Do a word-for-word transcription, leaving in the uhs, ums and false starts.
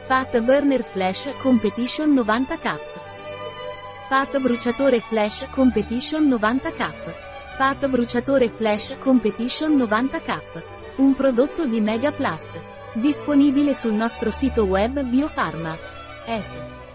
Fat Burner Flash Competition novanta K. Fat Bruciatore Flash Competition novanta K. Fat Bruciatore Flash Competition novanta K. Un prodotto di Mega Plus. Disponibile sul nostro sito web Biofarma. S.